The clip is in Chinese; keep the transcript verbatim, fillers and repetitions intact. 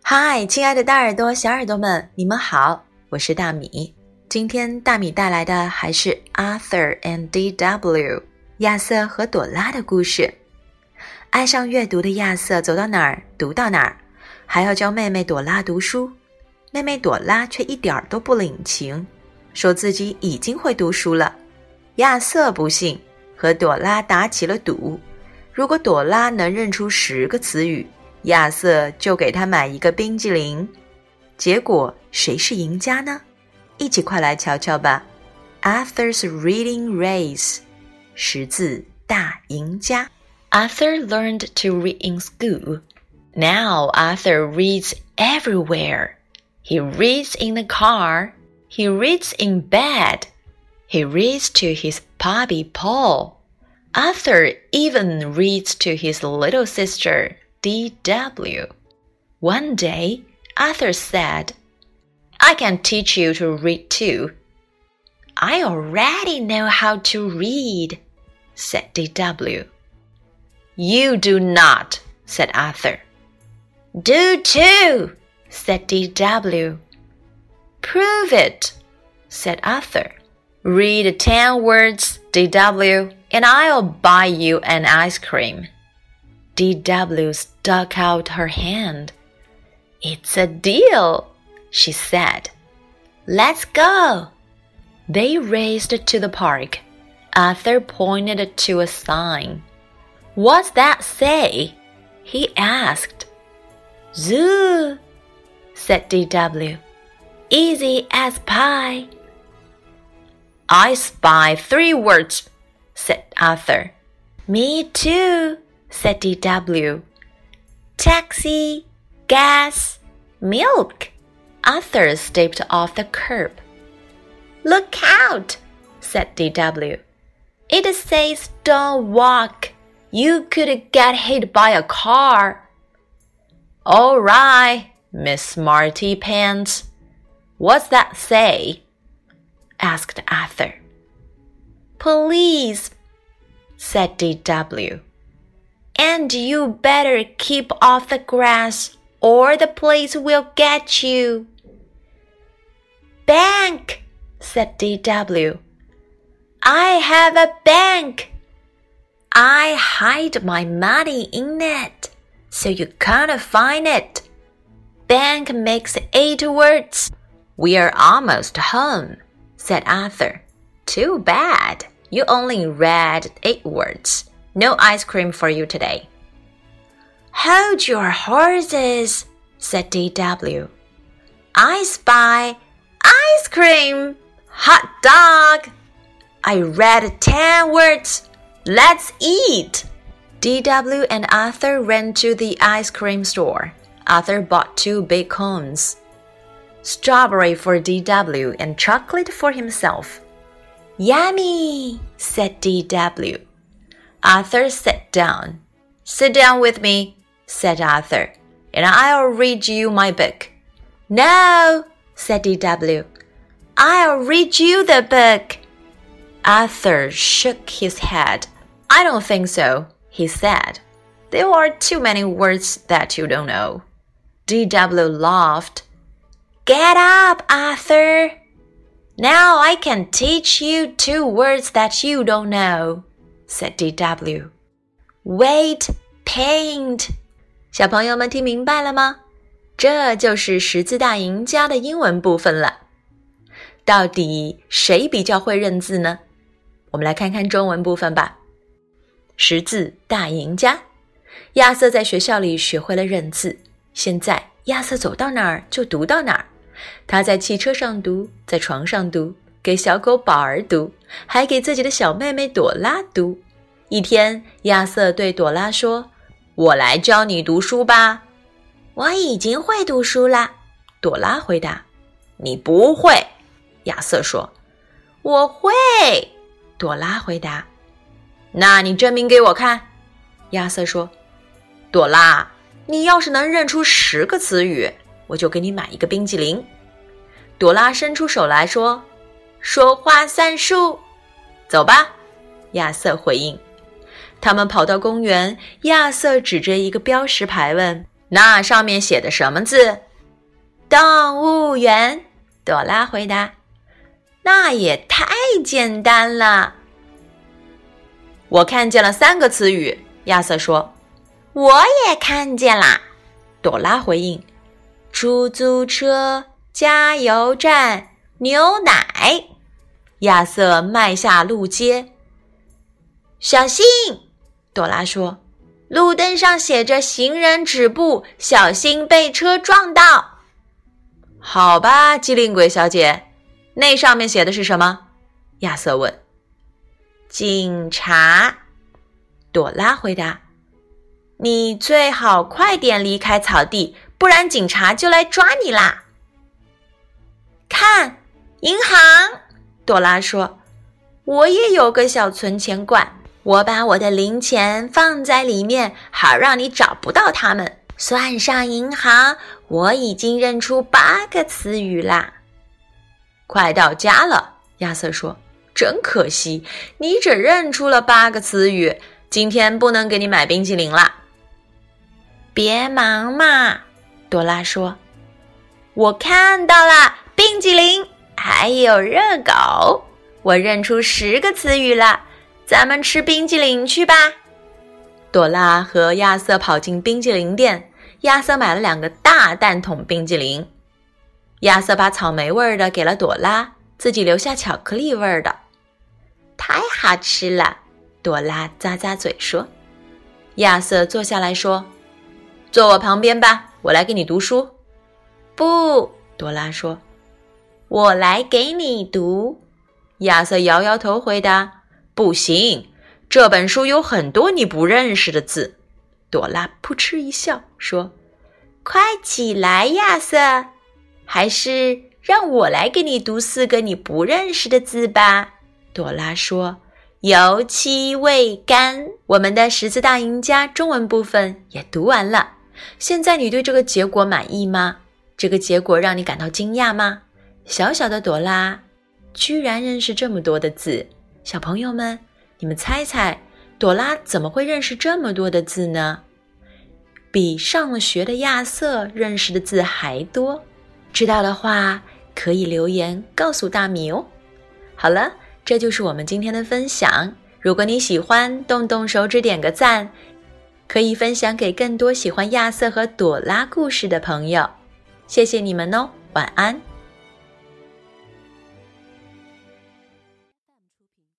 嗨，亲爱的大耳朵、小耳朵们，你们好，我是大米。今天大米带来的还是 Arthur and D W 亚瑟和朵拉的故事。爱上阅读的亚瑟走到哪儿读到哪儿，还要教妹妹朵拉读书。妹妹朵拉却一点都不领情，说自己已经会读书了。亚瑟不信，和朵拉打起了赌。如果朵拉能认出十个词语，亚瑟就给他买一个冰激凌。结果谁是赢家呢？一起快来瞧瞧吧。 Arthur's Reading Race 识字大赢家。 Arthur learned to read in school. Now Arthur reads everywhere. He reads in the car. He reads in bed. He reads to his puppy Paul. Arthur even reads to his little sister D W. One day, Arthur said, I can teach you to read too. I already know how to read, said D W. You do not, said Arthur. Do too, said D W. Prove it, said Arthur. Read ten words, D W, and I'll buy you an ice cream. D W stuck out her hand. It's a deal, she said. Let's go. They raced to the park. Arthur pointed to a sign. What's that say? He asked. Zoo, said D W. Easy as pie. I spy three words, said Arthur. Me too, said D W. Taxi, gas, milk. Arthur stepped off the curb. Look out, said D W. It says don't walk. You could get hit by a car. All right, Miss Smarty Pants. What's that say? Asked Arthur. Police, said D W. And you better keep off the grass or the police will get you. Bank, said D W. I have a bank. I hide my money in it, so you can't find it. Bank makes eight words. We're almost home, said Arthur. Too bad. You only read eight words. No ice cream for you today. Hold your horses, said D W. I spy ice cream. Hot dog. I read ten words. Let's eat. D W and Arthur ran to the ice cream store. Arthur bought two big cones. Strawberry for D W and chocolate for himself. Yummy, said D W. Arthur sat down. Sit down with me, said Arthur, and I'll read you my book. No, said D W. I'll read you the book. Arthur shook his head. I don't think so, he said. There are too many words that you don't know. D W laughed. Get up, Arthur. Now I can teach you two words that you don't know, said D W. Wait, paint. 小朋友们听明白了吗？这就是识字大赢家的英文部分了。到底谁比较会认字呢？我们来看看中文部分吧。识字大赢家，亚瑟在学校里学会了认字，现在亚瑟走到哪儿就读到哪儿。他在汽车上读，在床上读，给小狗宝儿读，还给自己的小妹妹朵拉读。一天，亚瑟对朵拉说，我来教你读书吧。我已经会读书啦，朵拉回答。你不会，亚瑟说。我会，朵拉回答。那你证明给我看，亚瑟说。朵拉，你要是能认出十个词语，我就给你买一个冰激凌。朵拉伸出手来说，说话算数。走吧，亚瑟回应。他们跑到公园，亚瑟指着一个标识牌问， 那上面写的什么字？动物园，朵拉回答。那也太简单了。我看见了三个词语，亚瑟说。我也看见啦，朵拉回应。出租车，加油站，牛奶。亚瑟迈下路街。小心，朵拉说。路灯上写着行人止步，小心被车撞到。好吧，机灵鬼小姐，那上面写的是什么？亚瑟问。警察，朵拉回答。你最好快点离开草地，不然警察就来抓你啦。看，银行，朵拉说。我也有个小存钱罐，我把我的零钱放在里面，好让你找不到它们。算上银行，我已经认出八个词语啦。快到家了，亚瑟说。真可惜，你只认出了八个词语，今天不能给你买冰淇淋啦。别忙嘛，朵拉说。我看到了冰淇淋，还有热狗，我认出十个词语了，咱们吃冰淇淋去吧。朵拉和亚瑟跑进冰淇淋店，亚瑟买了两个大蛋筒冰淇淋。亚瑟把草莓味的给了朵拉，自己留下巧克力味的。太好吃了，朵拉咂咂嘴说。亚瑟坐下来说，坐我旁边吧，我来给你读书。不，朵拉说。我来给你读。亚瑟摇摇头回答，不行，这本书有很多你不认识的字。朵拉扑哧一笑说，快起来，亚瑟，还是让我来给你读四个你不认识的字吧。朵拉说，油漆味甘。我们的识字大赢家中文部分也读完了，现在你对这个结果满意吗？这个结果让你感到惊讶吗？小小的朵拉居然认识这么多的字，小朋友们，你们猜猜，朵拉怎么会认识这么多的字呢？比上了学的亚瑟认识的字还多。知道的话，可以留言告诉大米哦。好了，这就是我们今天的分享。如果你喜欢，动动手指点个赞，可以分享给更多喜欢亚瑟和朵拉故事的朋友。谢谢你们哦，晚安。